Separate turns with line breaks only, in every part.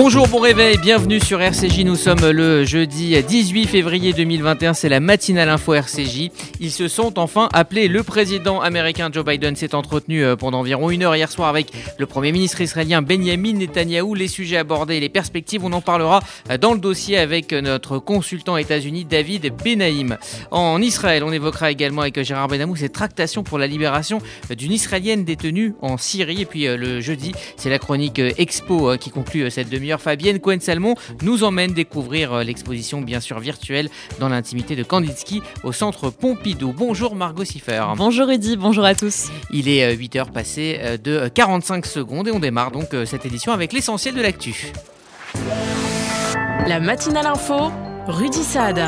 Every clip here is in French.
Bonjour, bon réveil, bienvenue sur RCJ, nous sommes le jeudi 18 février 2021, c'est la matinale info RCJ. Ils se sont enfin appelés, le président américain Joe Biden s'est entretenu pendant environ 1 heure hier soir avec le premier ministre israélien Benjamin Netanyahou. Les sujets abordés et les perspectives, on en parlera dans le dossier avec notre consultant États-Unis David Benaïm. En Israël, on évoquera également avec Gérard Benamou ces tractations pour la libération d'une Israélienne détenue en Syrie. Et puis le jeudi, c'est la chronique Expo qui conclut cette demi-heure. Fabienne Cohen-Salmon nous emmène découvrir l'exposition bien sûr virtuelle dans l'intimité de Kandinsky au centre Pompidou. Bonjour Margot Siffer.
Bonjour Rudy, bonjour à tous.
Il est 8h passé de 45 secondes et on démarre donc cette édition avec l'essentiel de l'actu.
La matinale info, Rudy Saad.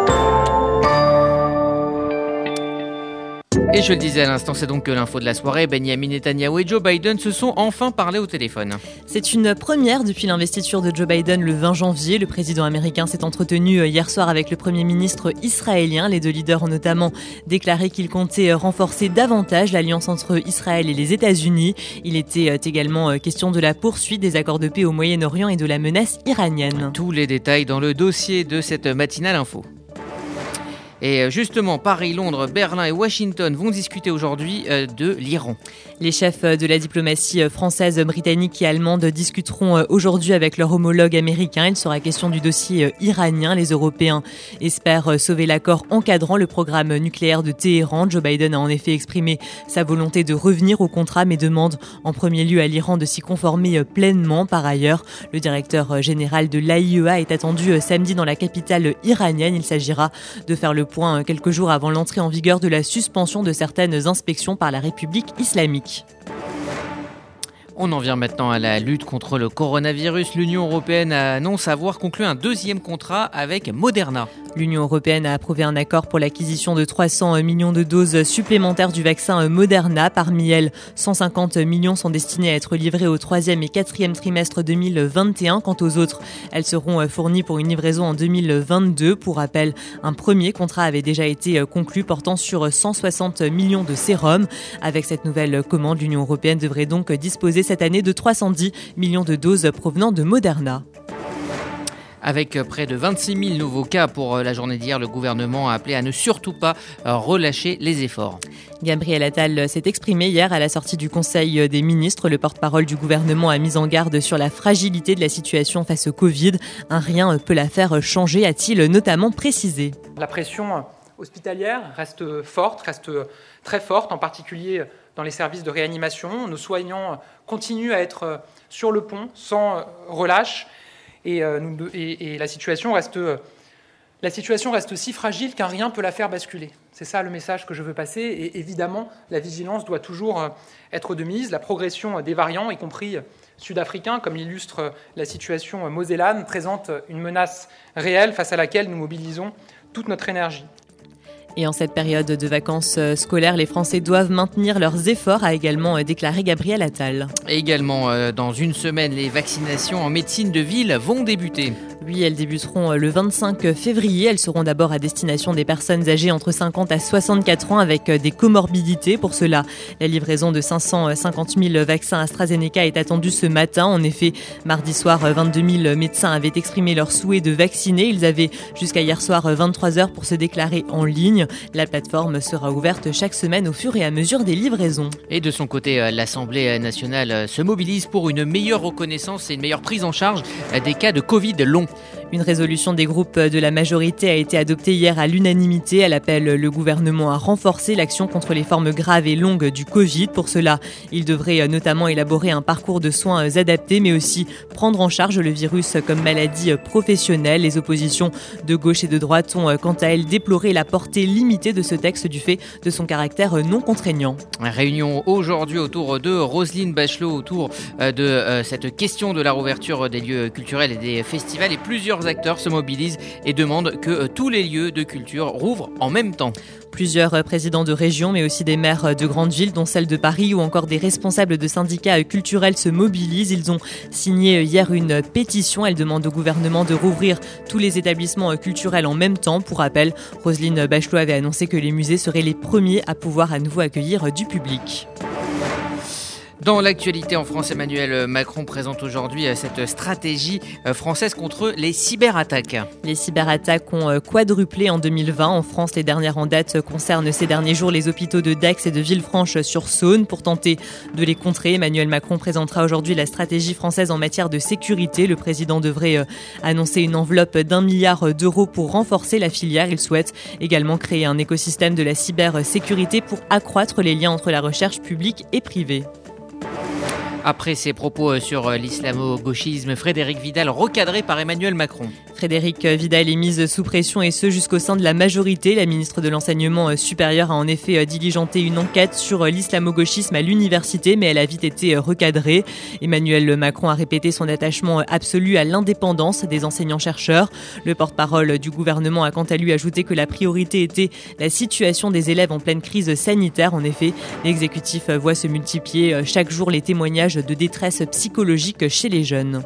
Et je le disais à l'instant, c'est donc l'info de la soirée. Benjamin Netanyahou et Joe Biden se sont enfin parlé au téléphone.
C'est une première depuis l'investiture de Joe Biden le 20 janvier. Le président américain s'est entretenu hier soir avec le premier ministre israélien. Les deux leaders ont notamment déclaré qu'ils comptaient renforcer davantage l'alliance entre Israël et les États-Unis. Il était également question de la poursuite des accords de paix au Moyen-Orient et de la menace iranienne.
Tous les détails dans le dossier de cette matinale info. Et justement, Paris, Londres, Berlin et Washington vont discuter aujourd'hui de l'Iran.
Les chefs de la diplomatie française, britannique et allemande discuteront aujourd'hui avec leur homologue américain. Il sera question du dossier iranien. Les Européens espèrent sauver l'accord encadrant le programme nucléaire de Téhéran. Joe Biden a en effet exprimé sa volonté de revenir au contrat, mais demande en premier lieu à l'Iran de s'y conformer pleinement. Par ailleurs, le directeur général de l'AIEA est attendu samedi dans la capitale iranienne. Il s'agira de faire le point quelques jours avant l'entrée en vigueur de la suspension de certaines inspections par la République islamique.
On en vient maintenant à la lutte contre le coronavirus. L'Union européenne annonce avoir conclu un deuxième contrat avec Moderna.
L'Union européenne a approuvé un accord pour l'acquisition de 300 millions de doses supplémentaires du vaccin Moderna. Parmi elles, 150 millions sont destinés à être livrés au 3e et 4e trimestre 2021. Quant aux autres, elles seront fournies pour une livraison en 2022. Pour rappel, un premier contrat avait déjà été conclu portant sur 160 millions de sérums. Avec cette nouvelle commande, l'Union européenne devrait donc disposer cette année de 310 millions de doses provenant de Moderna.
Avec près de 26 000 nouveaux cas pour la journée d'hier, le gouvernement a appelé à ne surtout pas relâcher les efforts.
Gabriel Attal s'est exprimé hier à la sortie du Conseil des ministres. Le porte-parole du gouvernement a mis en garde sur la fragilité de la situation face au Covid. Un rien peut la faire changer, a-t-il notamment précisé.
La pression hospitalière reste forte, reste très forte, en particulier dans les services de réanimation. Nos soignants continuent à être sur le pont sans relâche. Et la situation reste si fragile qu'un rien peut la faire basculer. C'est ça le message que je veux passer. Et évidemment, la vigilance doit toujours être de mise. La progression des variants, y compris sud-africains, comme l'illustre la situation mosellane, présente une menace réelle face à laquelle nous mobilisons toute notre énergie.
Et en cette période de vacances scolaires, les Français doivent maintenir leurs efforts, a également déclaré Gabriel Attal.
Et également, dans une semaine, les vaccinations en médecine de ville vont débuter.
Oui, elles débuteront le 25 février. Elles seront d'abord à destination des personnes âgées entre 50 à 64 ans avec des comorbidités. Pour cela, la livraison de 550 000 vaccins AstraZeneca est attendue ce matin. En effet, mardi soir, 22 000 médecins avaient exprimé leur souhait de vacciner. Ils avaient jusqu'à hier soir 23 heures pour se déclarer en ligne. La plateforme sera ouverte chaque semaine au fur et à mesure des livraisons.
Et de son côté, l'Assemblée nationale se mobilise pour une meilleure reconnaissance et une meilleure prise en charge des cas de Covid long.
Une résolution des groupes de la majorité a été adoptée hier à l'unanimité. Elle appelle le gouvernement à renforcer l'action contre les formes graves et longues du Covid. Pour cela, il devrait notamment élaborer un parcours de soins adapté, mais aussi prendre en charge le virus comme maladie professionnelle. Les oppositions de gauche et de droite ont quant à elles déploré la portée limitée de ce texte du fait de son caractère non contraignant.
Réunion aujourd'hui autour de Roselyne Bachelot, autour de cette question de la réouverture des lieux culturels et des festivals. Et plusieurs acteurs se mobilisent et demandent que tous les lieux de culture rouvrent en même temps.
Plusieurs présidents de région, mais aussi des maires de grandes villes, dont celle de Paris, ou encore des responsables de syndicats culturels se mobilisent. Ils ont signé hier une pétition. Elle demande au gouvernement de rouvrir tous les établissements culturels en même temps. Pour rappel, Roselyne Bachelot avait annoncé que les musées seraient les premiers à pouvoir à nouveau accueillir du public.
Dans l'actualité en France, Emmanuel Macron présente aujourd'hui cette stratégie française contre les cyberattaques.
Les cyberattaques ont quadruplé en 2020. En France, les dernières en date concernent ces derniers jours les hôpitaux de Dax et de Villefranche-sur-Saône. Pour tenter de les contrer, Emmanuel Macron présentera aujourd'hui la stratégie française en matière de sécurité. Le président devrait annoncer une enveloppe d'1 milliard d'euros pour renforcer la filière. Il souhaite également créer un écosystème de la cybersécurité pour accroître les liens entre la recherche publique et privée.
Après ses propos sur l'islamo-gauchisme, Frédérique Vidal recadré par Emmanuel Macron.
Frédérique Vidal est mise sous pression et ce jusqu'au sein de la majorité. La ministre de l'Enseignement supérieur a en effet diligenté une enquête sur l'islamo-gauchisme à l'université, mais elle a vite été recadrée. Emmanuel Macron a répété son attachement absolu à l'indépendance des enseignants-chercheurs. Le porte-parole du gouvernement a quant à lui ajouté que la priorité était la situation des élèves en pleine crise sanitaire. En effet, l'exécutif voit se multiplier chaque jour les témoignages de détresse psychologique chez les jeunes.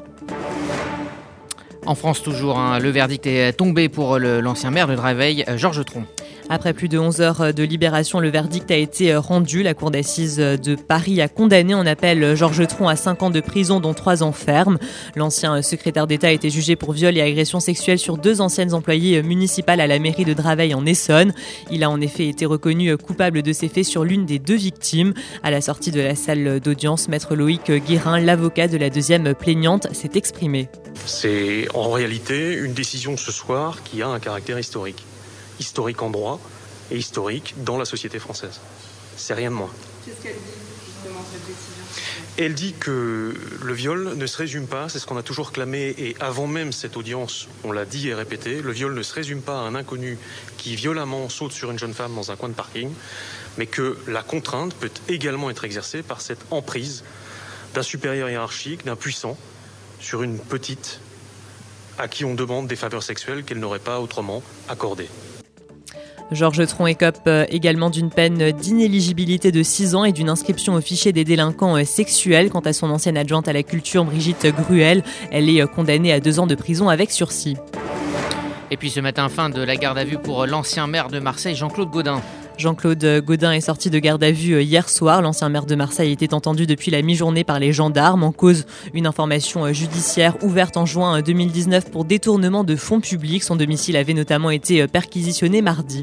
En France toujours, le verdict est tombé pour l'ancien maire de Draveil, Georges Tron.
Après plus de 11 heures de libération, le verdict a été rendu. La cour d'assises de Paris a condamné en appel Georges Tron à 5 ans de prison, dont 3 ans ferme. L'ancien secrétaire d'État a été jugé pour viol et agression sexuelle sur 2 anciennes employées municipales à la mairie de Draveil en Essonne. Il a en effet été reconnu coupable de ces faits sur l'une des 2 victimes. À la sortie de la salle d'audience, maître Loïc Guérin, l'avocat de la deuxième plaignante, s'est exprimé.
C'est en réalité une décision de ce soir qui a un caractère historique. Historique en droit et historique dans la société française. C'est rien de moins.
Qu'est-ce qu'elle dit, justement, cette décision ?
Elle dit que le viol ne se résume pas, c'est ce qu'on a toujours clamé, et avant même cette audience, on l'a dit et répété, le viol ne se résume pas à un inconnu qui violemment saute sur une jeune femme dans un coin de parking, mais que la contrainte peut également être exercée par cette emprise d'un supérieur hiérarchique, d'un puissant, sur une petite à qui on demande des faveurs sexuelles qu'elle n'aurait pas autrement accordées.
Georges Tron écope également d'une peine d'inéligibilité de 6 ans et d'une inscription au fichier des délinquants sexuels. Quant à son ancienne adjointe à la culture, Brigitte Gruel, elle est condamnée à 2 ans de prison avec sursis.
Et puis ce matin, fin de la garde à vue pour l'ancien maire de Marseille, Jean-Claude Gaudin.
Jean-Claude Gaudin est sorti de garde à vue hier soir. L'ancien maire de Marseille était entendu depuis la mi-journée par les gendarmes. En cause, une information judiciaire ouverte en juin 2019 pour détournement de fonds publics. Son domicile avait notamment été perquisitionné mardi.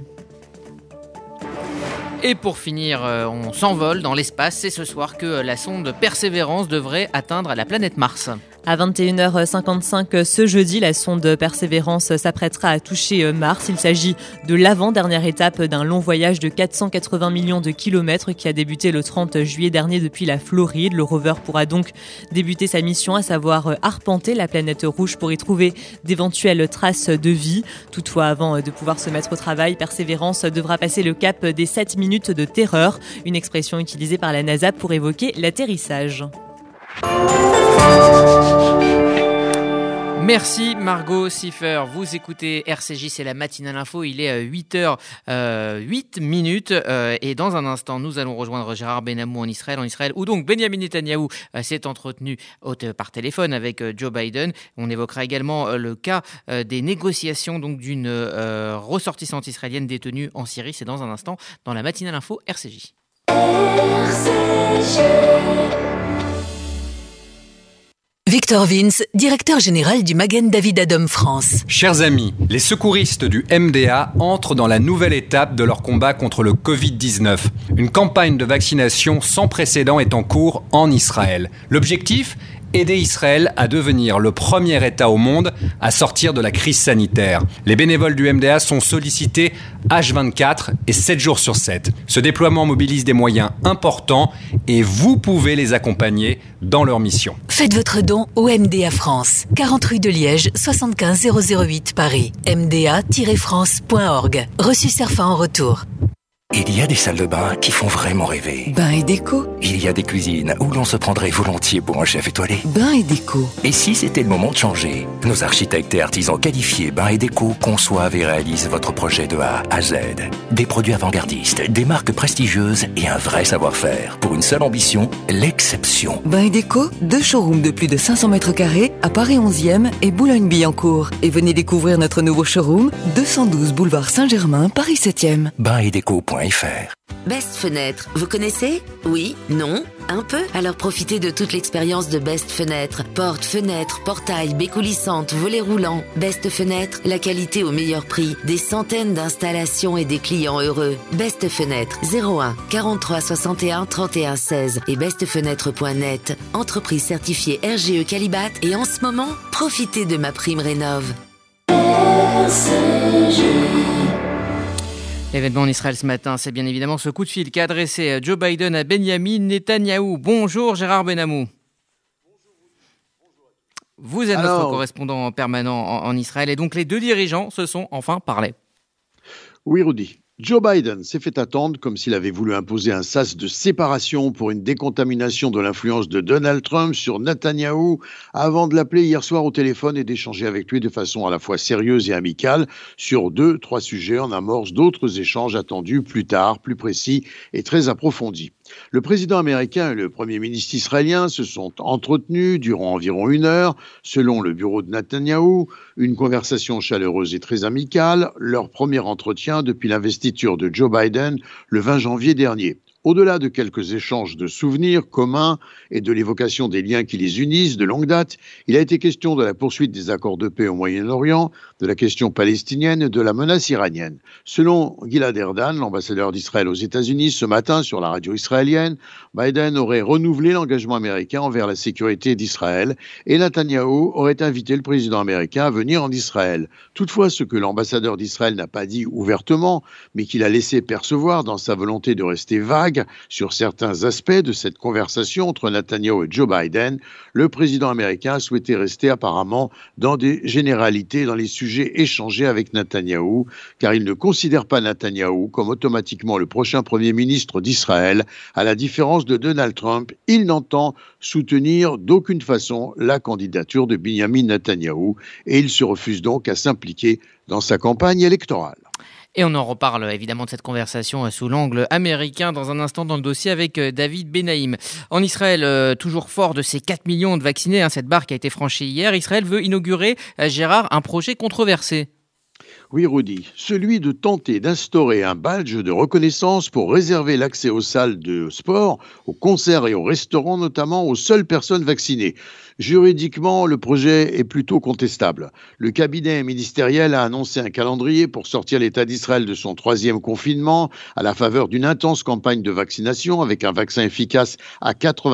Et pour finir, on s'envole dans l'espace. C'est ce soir que la sonde Persévérance devrait atteindre la planète Mars.
À 21h55 ce jeudi, la sonde Persévérance s'apprêtera à toucher Mars. Il s'agit de l'avant-dernière étape d'un long voyage de 480 millions de kilomètres qui a débuté le 30 juillet dernier depuis la Floride. Le rover pourra donc débuter sa mission, à savoir arpenter la planète rouge pour y trouver d'éventuelles traces de vie. Toutefois, avant de pouvoir se mettre au travail, Persévérance devra passer le cap des 7 minutes de terreur, une expression utilisée par la NASA pour évoquer l'atterrissage.
Merci Margot Siffer. Vous écoutez RCJ, c'est la matinale info. Il est 8h08 et dans un instant, nous allons rejoindre Gérard Benamou en Israël où donc Benjamin Netanyahou s'est entretenu par téléphone avec Joe Biden. On évoquera également le cas des négociations donc d'une ressortissante israélienne détenue en Syrie. C'est dans un instant dans la matinale info RCJ.
Victor Vince, directeur général du Magen David Adom France.
Chers amis, les secouristes du MDA entrent dans la nouvelle étape de leur combat contre le Covid-19. Une campagne de vaccination sans précédent est en cours en Israël. L'objectif ? Aider Israël à devenir le premier État au monde à sortir de la crise sanitaire. Les bénévoles du MDA sont sollicités H24 et 7 jours sur 7. Ce déploiement mobilise des moyens importants et vous pouvez les accompagner dans leur mission.
Faites votre don au MDA France, 40 rue de Liège, 75 008 Paris. mda-france.org. Reçu Cerfa en retour.
Il y a des salles de bain qui font vraiment rêver.
Bain et déco.
Il y a des cuisines où l'on se prendrait volontiers pour un chef étoilé.
Bain et déco.
Et si c'était le moment de changer ? Nos architectes et artisans qualifiés Bain et déco conçoivent et réalisent votre projet de A à Z. Des produits avant-gardistes, des marques prestigieuses et un vrai savoir-faire. Pour une seule ambition, l'exception.
Bain et déco, 2 showrooms de plus de 500 mètres carrés à Paris 11e et Boulogne-Billancourt. Et venez découvrir notre nouveau showroom, 212 boulevard Saint-Germain, Paris 7e.
Bain et déco.com bestfenêtre.fr.
Best Fenêtre, vous connaissez ? Oui ? Non ? Un peu ? Alors profitez de toute l'expérience de Best Fenêtre. Portes, fenêtres, portails, baies coulissantes, volets roulants. Best Fenêtre, la qualité au meilleur prix. Des centaines d'installations et des clients heureux. Best Fenêtre, 01 43 61 31 16 et bestfenêtre.net. Entreprise certifiée RGE Qualibat et en ce moment, profitez de ma prime rénov'.
L'événement en Israël ce matin, c'est bien évidemment ce coup de fil qu'a adressé Joe Biden à Benjamin Netanyahou. Bonjour Gérard Benamou. Vous êtes notre correspondant permanent en Israël et donc les deux dirigeants se sont enfin parlé.
Oui Rudy. Joe Biden s'est fait attendre comme s'il avait voulu imposer un sas de séparation pour une décontamination de l'influence de Donald Trump sur Netanyahou avant de l'appeler hier soir au téléphone et d'échanger avec lui de façon à la fois sérieuse et amicale sur 2-3 sujets en amorce d'autres échanges attendus plus tard, plus précis et très approfondis. Le président américain et le premier ministre israélien se sont entretenus durant environ 1 heure, selon le bureau de Netanyahou, une conversation chaleureuse et très amicale, leur premier entretien depuis l'investiture de Joe Biden le 20 janvier dernier. Au-delà de quelques échanges de souvenirs communs et de l'évocation des liens qui les unissent de longue date, il a été question de la poursuite des accords de paix au Moyen-Orient, de la question palestinienne et de la menace iranienne. Selon Gilad Erdan, l'ambassadeur d'Israël aux États-Unis, ce matin sur la radio israélienne, Biden aurait renouvelé l'engagement américain envers la sécurité d'Israël et Netanyahou aurait invité le président américain à venir en Israël. Toutefois, ce que l'ambassadeur d'Israël n'a pas dit ouvertement, mais qu'il a laissé percevoir dans sa volonté de rester vague, sur certains aspects de cette conversation entre Netanyahou et Joe Biden, le président américain a souhaité rester apparemment dans des généralités dans les sujets échangés avec Netanyahou, car il ne considère pas Netanyahou comme automatiquement le prochain Premier ministre d'Israël. À la différence de Donald Trump, il n'entend soutenir d'aucune façon la candidature de Benjamin Netanyahou et il se refuse donc à s'impliquer dans sa campagne électorale.
Et on en reparle évidemment de cette conversation sous l'angle américain dans un instant dans le dossier avec David Benaïm. En Israël, toujours fort de ses 4 millions de vaccinés, cette barre qui a été franchie hier, Israël veut inaugurer, Gérard, un projet controversé.
Oui, Rudy, celui de tenter d'instaurer un badge de reconnaissance pour réserver l'accès aux salles de sport, aux concerts et aux restaurants, notamment aux seules personnes vaccinées. Juridiquement, le projet est plutôt contestable. Le cabinet ministériel a annoncé un calendrier pour sortir l'État d'Israël de son 3e confinement à la faveur d'une intense campagne de vaccination avec un vaccin efficace à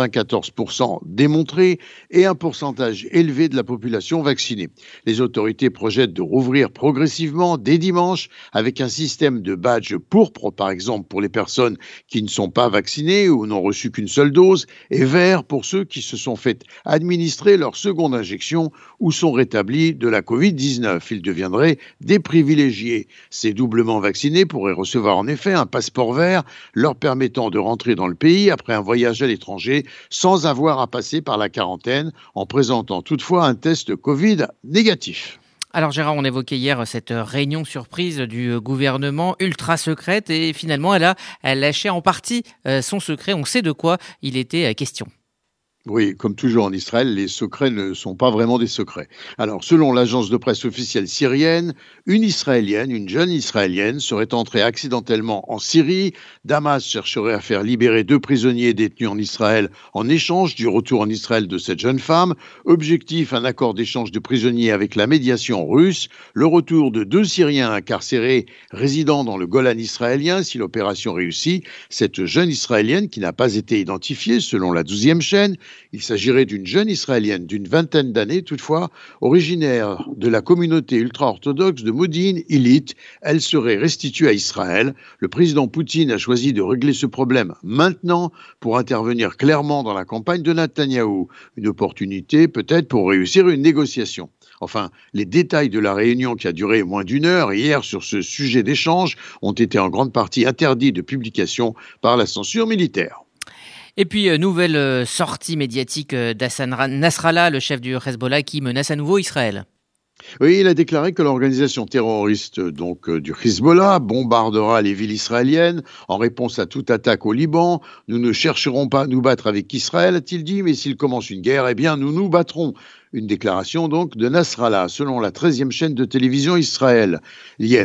94% démontré et un pourcentage élevé de la population vaccinée. Les autorités projettent de rouvrir progressivement dès dimanche avec un système de badge pourpre, par exemple pour les personnes qui ne sont pas vaccinées ou n'ont reçu qu'une seule dose, et vert pour ceux qui se sont fait administrer leur seconde injection ou sont rétablis de la Covid-19. Ils deviendraient des privilégiés. Ces doublement vaccinés pourraient recevoir en effet un passeport vert leur permettant de rentrer dans le pays après un voyage à l'étranger sans avoir à passer par la quarantaine en présentant toutefois un test Covid négatif.
Alors Gérard, on évoquait hier cette réunion surprise du gouvernement ultra secrète et finalement elle a lâché en partie son secret. On sait de quoi il était question.
Oui, comme toujours en Israël, les secrets ne sont pas vraiment des secrets. Alors, selon l'agence de presse officielle syrienne, une jeune Israélienne, serait entrée accidentellement en Syrie. Damas chercherait à faire libérer 2 prisonniers détenus en Israël en échange du retour en Israël de cette jeune femme. Objectif, un accord d'échange de prisonniers avec la médiation russe. Le retour de 2 Syriens incarcérés résidant dans le Golan israélien si l'opération réussit. Cette jeune Israélienne, qui n'a pas été identifiée selon la 12e chaîne, il s'agirait d'une jeune Israélienne d'une 20aine d'années, toutefois, originaire de la communauté ultra-orthodoxe de Modin-Illit. Elle serait restituée à Israël. Le président Poutine a choisi de régler ce problème maintenant pour intervenir clairement dans la campagne de Netanyahou. Une opportunité peut-être pour réussir une négociation. Enfin, les détails de la réunion qui a duré moins d'1 heure hier sur ce sujet d'échange ont été en grande partie interdits de publication par la censure militaire.
Et puis, nouvelle sortie médiatique d'Hassan Nasrallah, le chef du Hezbollah, qui menace à nouveau Israël.
Oui, il a déclaré que l'organisation terroriste du Hezbollah bombardera les villes israéliennes en réponse à toute attaque au Liban. Nous ne chercherons pas à nous battre avec Israël, a-t-il dit, mais s'il commence une guerre, eh bien nous nous battrons. Une déclaration donc de Nasrallah, selon la 13e chaîne de télévision israélienne.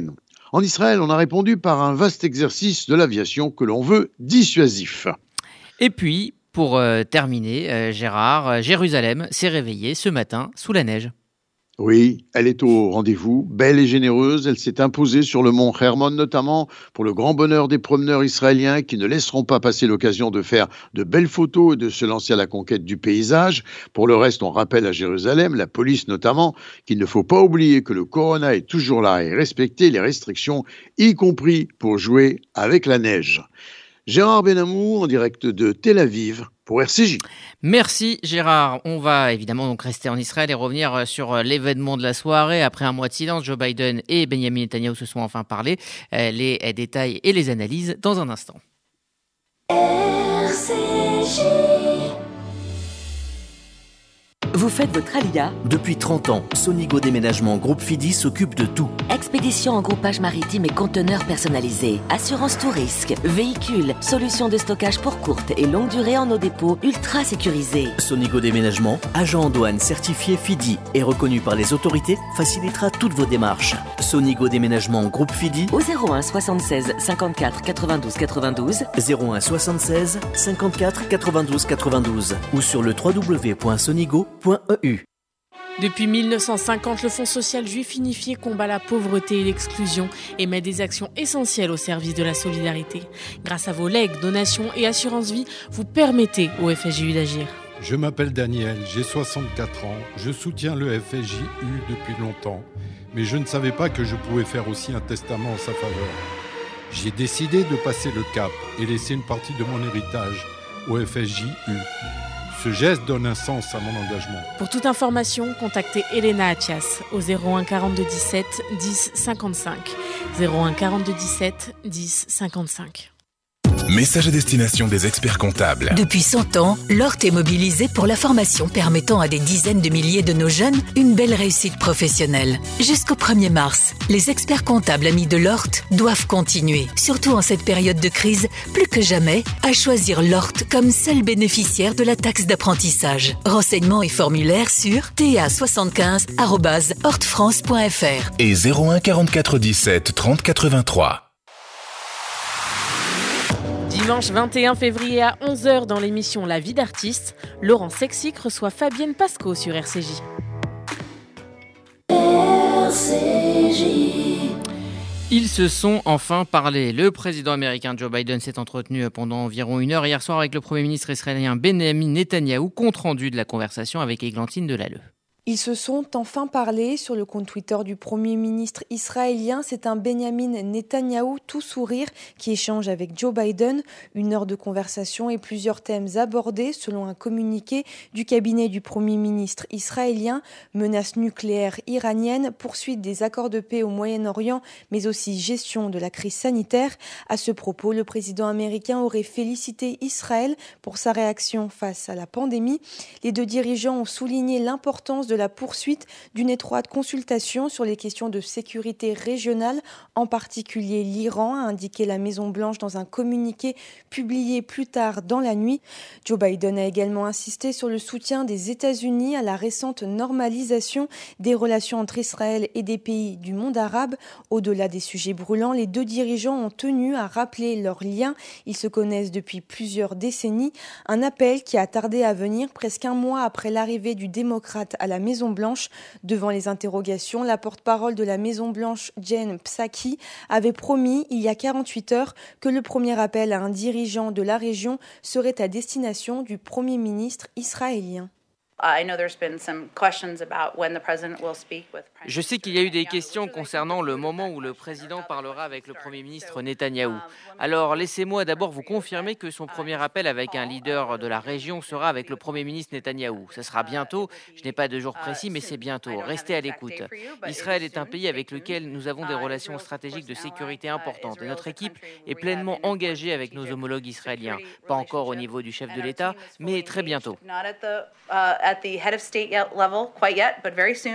En Israël, on a répondu par un vaste exercice de l'aviation que l'on veut dissuasif.
Et puis, pour terminer, Gérard, Jérusalem s'est réveillée ce matin sous la neige.
Oui, elle est au rendez-vous, belle et généreuse. Elle s'est imposée sur le mont Hermon, notamment pour le grand bonheur des promeneurs israéliens qui ne laisseront pas passer l'occasion de faire de belles photos et de se lancer à la conquête du paysage. Pour le reste, on rappelle à Jérusalem, la police notamment, qu'il ne faut pas oublier que le corona est toujours là et respecter les restrictions, y compris pour jouer avec la neige. Gérard Benamou, en direct de Tel Aviv, pour RCJ.
Merci Gérard. On va évidemment donc rester en Israël et revenir sur l'événement de la soirée. Après un mois de silence, Joe Biden et Benjamin Netanyahu se sont enfin parlé. Les détails et les analyses dans un instant.
RCJ.
Vous faites votre alia ? Depuis 30 ans, Sonigo Déménagement Groupe Fidi s'occupe de tout.
Expédition en groupage maritime et conteneurs personnalisés, assurance tout risque, véhicules, solutions de stockage pour courte et longue durée en nos dépôts ultra sécurisés.
Sonigo Déménagement, agent en douane certifié Fidi et reconnu par les autorités, facilitera toutes vos démarches. Sonigo Déménagement Groupe Fidi
au 01 76 54 92 92
01 76 54 92 92 ou sur le www.sonigo.eu.
Depuis 1950, le Fonds social juif unifié combat la pauvreté et l'exclusion et met des actions essentielles au service de la solidarité. Grâce à vos legs, donations et assurances vie, vous permettez au FSJU d'agir.
Je m'appelle Daniel, j'ai 64 ans, je soutiens le FSJU depuis longtemps, mais je ne savais pas que je pouvais faire aussi un testament en sa faveur. J'ai décidé de passer le cap et laisser une partie de mon héritage au FSJU. Ce geste donne un sens à mon engagement.
Pour toute information, contactez Elena Athias au 01 42 17 10 55. 01 42 17 10 55.
Message à destination des experts comptables.
Depuis 100 ans, l'ORT est mobilisé pour la formation permettant à des dizaines de milliers de nos jeunes une belle réussite professionnelle. Jusqu'au 1er mars, les experts comptables amis de l'ORT doivent continuer, surtout en cette période de crise, plus que jamais, à choisir l'ORT comme seul bénéficiaire de la taxe d'apprentissage. Renseignements et formulaires sur ta75@ortfrance.fr
et 01 44 17 30 83.
Dimanche 21 février à 11h dans l'émission La vie d'artiste, Laurent Sexic reçoit Fabienne Pasco sur RCJ.
Ils se sont enfin parlé. Le président américain Joe Biden s'est entretenu pendant environ 1 heure hier soir avec le Premier ministre israélien Benjamin Netanyahou, compte rendu de la conversation avec Églantine Delalleux.
Ils se sont enfin parlé sur le compte Twitter du Premier ministre israélien. C'est un Benjamin Netanyahou tout sourire qui échange avec Joe Biden. 1 heure de conversation et plusieurs thèmes abordés selon un communiqué du cabinet du Premier ministre israélien. Menace nucléaire iranienne, poursuite des accords de paix au Moyen-Orient, mais aussi gestion de la crise sanitaire. À ce propos, le président américain aurait félicité Israël pour sa réaction face à la pandémie. Les deux dirigeants ont souligné l'importance de la poursuite d'une étroite consultation sur les questions de sécurité régionale, en particulier l'Iran, a indiqué la Maison-Blanche dans un communiqué publié plus tard dans la nuit. Joe Biden a également insisté sur le soutien des États-Unis à la récente normalisation des relations entre Israël et des pays du monde arabe. Au-delà des sujets brûlants, les deux dirigeants ont tenu à rappeler leurs liens. Ils se connaissent depuis plusieurs décennies. Un appel qui a tardé à venir presque un mois après l'arrivée du démocrate à la Maison-Blanche. Devant les interrogations, la porte-parole de la Maison-Blanche, Jen Psaki, avait promis il y a 48 heures que le premier appel à un dirigeant de la région serait à destination du Premier ministre israélien.
Je sais qu'il y a eu des questions concernant le moment où le président parlera avec le Premier ministre Netanyahou. Alors laissez-moi d'abord vous confirmer que son premier appel avec un leader de la région sera avec le Premier ministre Netanyahou. Ce sera bientôt, je n'ai pas de jour précis, mais c'est bientôt. Restez à l'écoute. Israël est un pays avec lequel nous avons des relations stratégiques de sécurité importantes et notre équipe est pleinement engagée avec nos homologues israéliens. Pas encore au niveau du chef de l'État, mais très bientôt.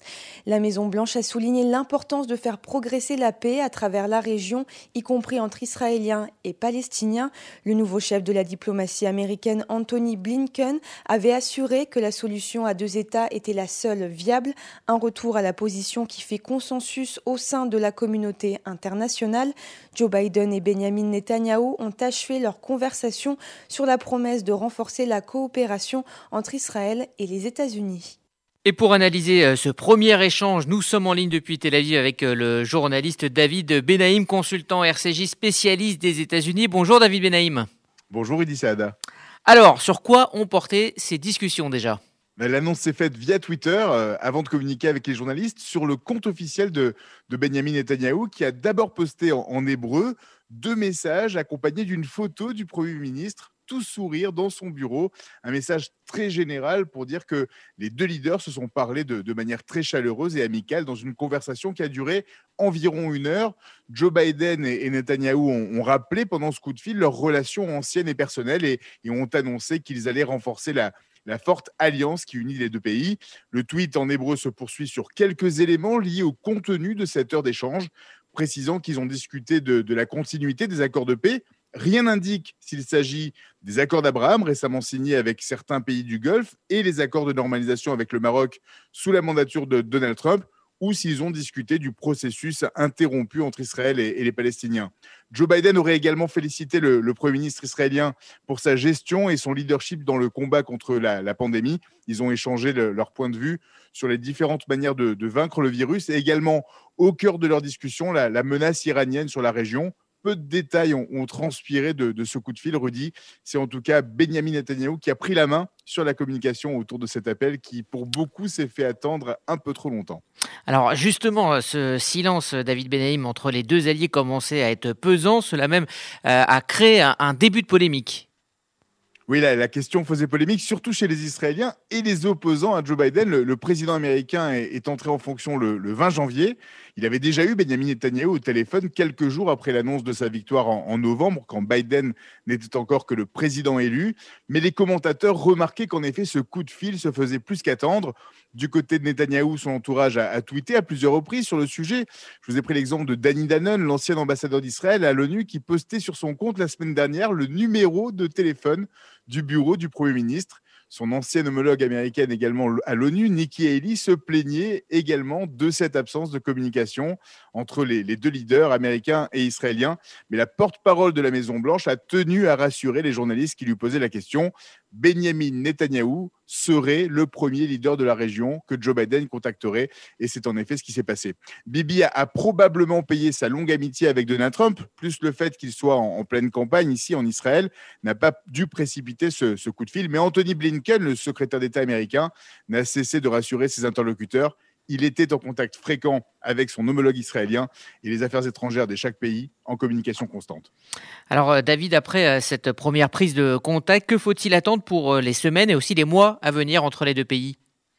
La Maison-Blanche a souligné l'importance de faire progresser la paix à travers la région, y compris entre Israéliens et Palestiniens. Le nouveau chef de la diplomatie américaine, Anthony Blinken, avait assuré que la solution à 2 États était la seule viable, un retour à la position qui fait consensus au sein de la communauté internationale. Joe Biden et Benjamin Netanyahou ont achevé leur conversation sur la promesse de renforcer la coopération entre Israël et les États-Unis.
Et pour analyser ce premier échange, nous sommes en ligne depuis Tel Aviv avec le journaliste David Benaïm, consultant RCJ spécialiste des États-Unis. Bonjour David Benaïm.
Bonjour Eddy Saada.
Alors, sur quoi ont porté ces discussions déjà ?
L'annonce s'est faite via Twitter avant de communiquer avec les journalistes sur le compte officiel de Benjamin Netanyahou qui a d'abord posté en hébreu 2 messages accompagnés d'une photo du Premier ministre, tout sourire dans son bureau. Un message très général pour dire que les 2 leaders se sont parlé de manière très chaleureuse et amicale dans une conversation qui a duré environ 1 heure. Joe Biden et Netanyahou ont rappelé pendant ce coup de fil leurs relations anciennes et personnelles et ont annoncé qu'ils allaient renforcer la forte alliance qui unit les 2 pays. Le tweet en hébreu se poursuit sur quelques éléments liés au contenu de cette heure d'échange, précisant qu'ils ont discuté de la continuité des accords de paix. Rien n'indique s'il s'agit des accords d'Abraham récemment signés avec certains pays du Golfe et les accords de normalisation avec le Maroc sous la mandature de Donald Trump, ou s'ils ont discuté du processus interrompu entre Israël et les Palestiniens. Joe Biden aurait également félicité le Premier ministre israélien pour sa gestion et son leadership dans le combat contre la pandémie. Ils ont échangé leur point de vue sur les différentes manières de vaincre le virus et également, au cœur de leur discussion, la menace iranienne sur la région. Peu de détails ont transpiré de ce coup de fil, Rudy. C'est en tout cas Benjamin Netanyahou qui a pris la main sur la communication autour de cet appel qui, pour beaucoup, s'est fait attendre un peu trop longtemps.
Alors justement, ce silence, David Benaïm, entre les 2 alliés commençait à être pesant. Cela même a créé un début de polémique.
Oui, la question faisait polémique, surtout chez les Israéliens et les opposants à Joe Biden. Le président américain est entré en fonction le 20 janvier. Il avait déjà eu Benjamin Netanyahou au téléphone quelques jours après l'annonce de sa victoire en novembre, quand Biden n'était encore que le président élu. Mais les commentateurs remarquaient qu'en effet, ce coup de fil se faisait plus qu'attendre. Du côté de Netanyahou, son entourage a tweeté à plusieurs reprises sur le sujet. Je vous ai pris l'exemple de Danny Danon, l'ancien ambassadeur d'Israël à l'ONU, qui postait sur son compte la semaine dernière le numéro de téléphone du bureau du Premier ministre. Son ancienne homologue américaine également à l'ONU, Nikki Haley, se plaignait également de cette absence de communication entre les 2 leaders américains et israéliens. Mais la porte-parole de la Maison-Blanche a tenu à rassurer les journalistes qui lui posaient la question. Benjamin Netanyahou serait le premier leader de la région que Joe Biden contacterait. Et c'est en effet ce qui s'est passé. Bibi a probablement payé sa longue amitié avec Donald Trump, plus le fait qu'il soit en pleine campagne ici en Israël, n'a pas dû précipiter ce coup de fil. Mais Anthony Blinken, le secrétaire d'État américain, n'a cessé de rassurer ses interlocuteurs. Il était en contact fréquent avec son homologue israélien et les affaires étrangères de chaque pays en communication constante.
Alors David, après cette première prise de contact, que faut-il attendre pour les semaines et aussi les mois à venir entre les 2 pays ?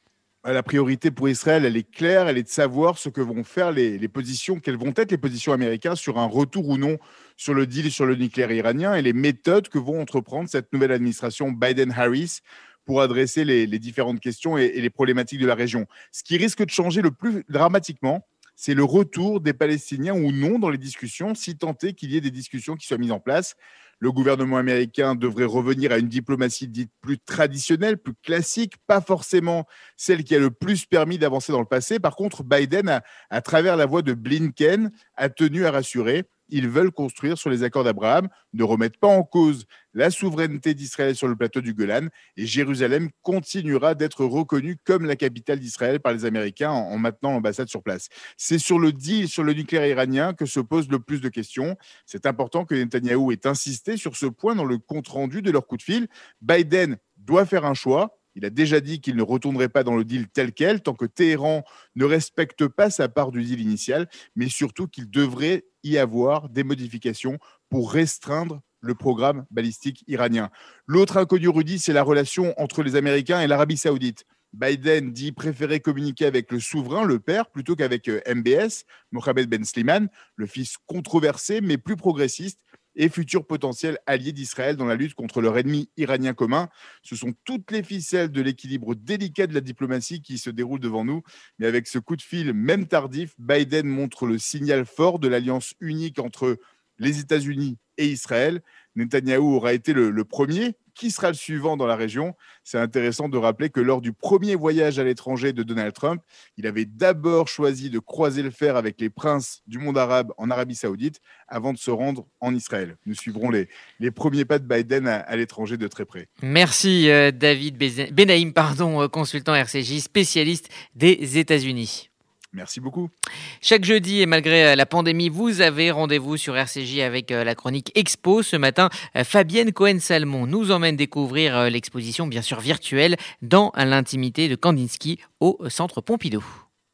La priorité pour Israël, elle est claire, elle est de savoir ce que vont faire les positions, quelles vont être les positions américaines sur un retour ou non sur le deal sur le nucléaire iranien et les méthodes que vont entreprendre cette nouvelle administration Biden-Harris pour adresser les différentes questions et les problématiques de la région. Ce qui risque de changer le plus dramatiquement, c'est le retour des Palestiniens ou non dans les discussions, si tant est qu'il y ait des discussions qui soient mises en place. Le gouvernement américain devrait revenir à une diplomatie dite plus traditionnelle, plus classique, pas forcément celle qui a le plus permis d'avancer dans le passé. Par contre, Biden, à travers la voix de Blinken, a tenu à rassurer. Ils veulent construire sur les accords d'Abraham, ne remettent pas en cause la souveraineté d'Israël sur le plateau du Golan et Jérusalem continuera d'être reconnue comme la capitale d'Israël par les Américains en maintenant l'ambassade sur place. C'est sur le deal sur le nucléaire iranien que se posent le plus de questions. C'est important que Netanyahou ait insisté sur ce point dans le compte-rendu de leur coup de fil. Biden doit faire un choix. Il a déjà dit qu'il ne retournerait pas dans le deal tel quel tant que Téhéran ne respecte pas sa part du deal initial, mais surtout qu'il devrait y avoir des modifications pour restreindre le programme balistique iranien. L'autre inconnu, Rudy, c'est la relation entre les Américains et l'Arabie Saoudite. Biden dit préférer communiquer avec le souverain, le père, plutôt qu'avec MBS, Mohammed Ben Slimane, le fils controversé mais plus progressiste. et futur potentiel allié d'Israël dans la lutte contre leur ennemi iranien commun. Ce sont toutes les ficelles de l'équilibre délicat de la diplomatie qui se déroulent devant nous. Mais avec ce coup de fil, même tardif, Biden montre le signal fort de l'alliance unique entre les États-Unis et Israël. Netanyahou aura été le premier. Qui sera le suivant dans la région ? C'est intéressant de rappeler que lors du premier voyage à l'étranger de Donald Trump, il avait d'abord choisi de croiser le fer avec les princes du monde arabe en Arabie Saoudite avant de se rendre en Israël. Nous suivrons les premiers pas de Biden à l'étranger de très près.
Merci David Benaïm, consultant RCJ, spécialiste des États-Unis.
Merci beaucoup.
Chaque jeudi, et malgré la pandémie, vous avez rendez-vous sur RCJ avec la chronique Expo. Ce matin, Fabienne Cohen-Salmon nous emmène découvrir l'exposition, bien sûr virtuelle, dans l'intimité de Kandinsky au Centre Pompidou.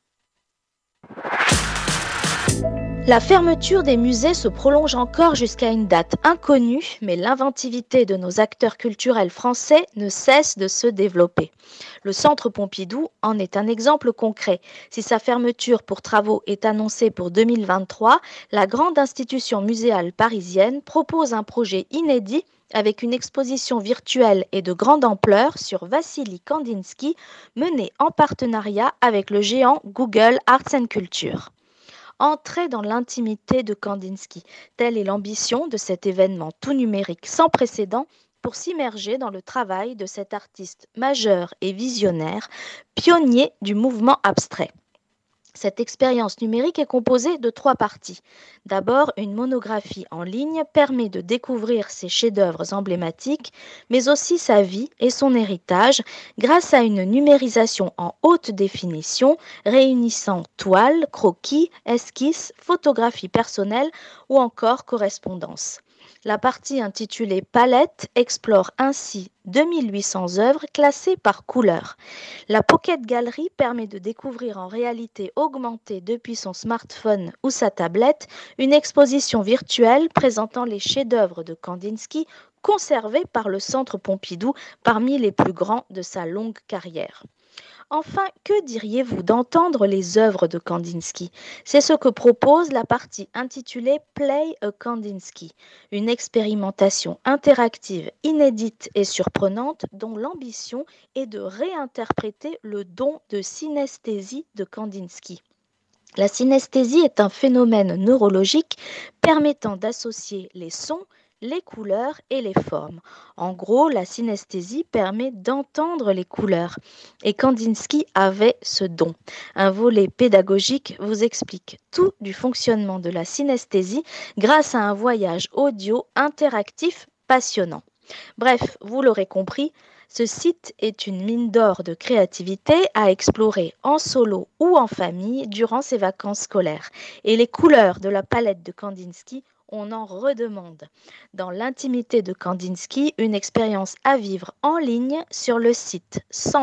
La fermeture des musées se prolonge encore jusqu'à une date inconnue, mais l'inventivité de nos acteurs culturels français ne cesse de se développer. Le Centre Pompidou en est un exemple concret. Si sa fermeture pour travaux est annoncée pour 2023, la grande institution muséale parisienne propose un projet inédit avec une exposition virtuelle et de grande ampleur sur Vassili Kandinsky, menée en partenariat avec le géant Google Arts & Culture. Entrer dans l'intimité de Kandinsky, telle est l'ambition de cet événement tout numérique sans précédent pour s'immerger dans le travail de cet artiste majeur et visionnaire, pionnier du mouvement abstrait. Cette expérience numérique est composée de 3 parties. D'abord, une monographie en ligne permet de découvrir ses chefs-d'œuvre emblématiques, mais aussi sa vie et son héritage grâce à une numérisation en haute définition réunissant toiles, croquis, esquisses, photographies personnelles ou encore correspondances. La partie intitulée Palette explore ainsi 2800 œuvres classées par couleur. La Pocket Gallery permet de découvrir en réalité augmentée depuis son smartphone ou sa tablette une exposition virtuelle présentant les chefs-d'œuvre de Kandinsky conservés par le Centre Pompidou parmi les plus grands de sa longue carrière. Enfin, que diriez-vous d'entendre les œuvres de Kandinsky ? C'est ce que propose la partie intitulée Play a Kandinsky, une expérimentation interactive, inédite et surprenante dont l'ambition est de réinterpréter le don de synesthésie de Kandinsky. La synesthésie est un phénomène neurologique permettant d'associer les sons, les couleurs et les formes. En gros, la synesthésie permet d'entendre les couleurs. Et Kandinsky avait ce don. Un volet pédagogique vous explique tout du fonctionnement de la synesthésie grâce à un voyage audio interactif passionnant. Bref, vous l'aurez compris, ce site est une mine d'or de créativité à explorer en solo ou en famille durant ses vacances scolaires. Et les couleurs de la palette de Kandinsky, on en redemande. Dans l'intimité de Kandinsky, une expérience à vivre en ligne sur le site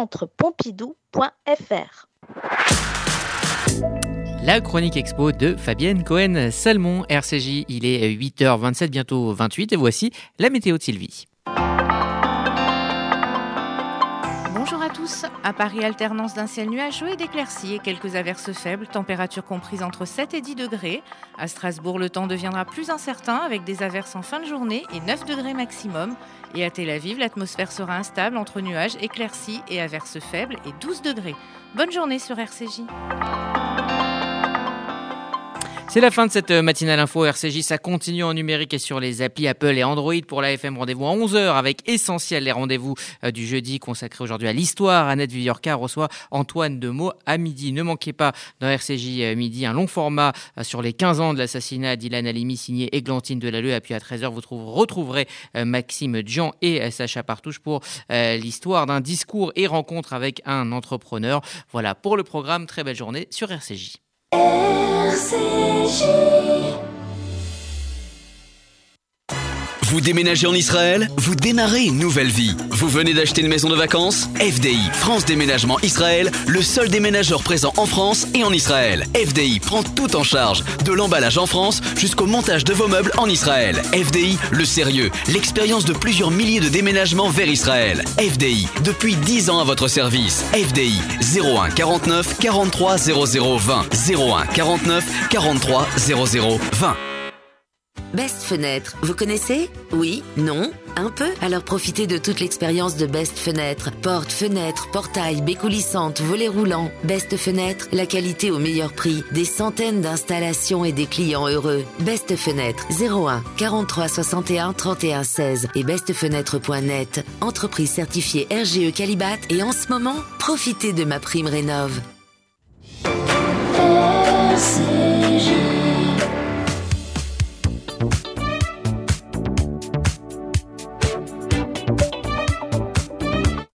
centrepompidou.fr.
La chronique expo de Fabienne Cohen-Salmon, RCJ. Il est 8h27, bientôt 28, et voici la météo de Sylvie.
Bonjour à tous. À Paris, alternance d'un ciel nuageux et d'éclaircies et quelques averses faibles, température comprise entre 7 et 10 degrés. À Strasbourg, le temps deviendra plus incertain avec des averses en fin de journée et 9 degrés maximum. Et à Tel Aviv, l'atmosphère sera instable entre nuages, éclaircies et averses faibles et 12 degrés. Bonne journée sur RCJ.
C'est la fin de cette matinale info RCJ, ça continue en numérique et sur les applis Apple et Android pour la FM. Rendez-vous à 11h avec Essentiel, les rendez-vous du jeudi consacrés aujourd'hui à l'histoire. Annette Viviorca reçoit Antoine Demeaux à midi. Ne manquez pas dans RCJ midi un long format sur les 15 ans de l'assassinat d'Ilan Halimi signé Églantine Delalleux. Et puis à 13h, vous retrouverez Maxime Dian et Sacha Partouche pour l'histoire d'un discours et rencontre avec un entrepreneur. Voilà pour le programme. Très belle journée sur RCJ.
Vous déménagez en Israël ? Vous démarrez une nouvelle vie. Vous venez d'acheter une maison de vacances ? FDI, France Déménagement Israël, le seul déménageur présent en France et en Israël. FDI prend tout en charge, de l'emballage en France jusqu'au montage de vos meubles en Israël. FDI, le sérieux, l'expérience de plusieurs milliers de déménagements vers Israël. FDI, depuis 10 ans à votre service. FDI, 01 49 43 00 20. 01 49 43 00 20.
Best Fenêtre, vous connaissez? Oui? Non? Un peu? Alors profitez de toute l'expérience de Best Fenêtre. Portes, fenêtres, portails, baies coulissantes, volets roulants. Best Fenêtre, la qualité au meilleur prix. Des centaines d'installations et des clients heureux. Best Fenêtre, 01 43 61 31 16 et bestfenêtre.net. Entreprise certifiée RGE Qualibat et en ce moment, profitez de ma prime rénov'.
RCJ.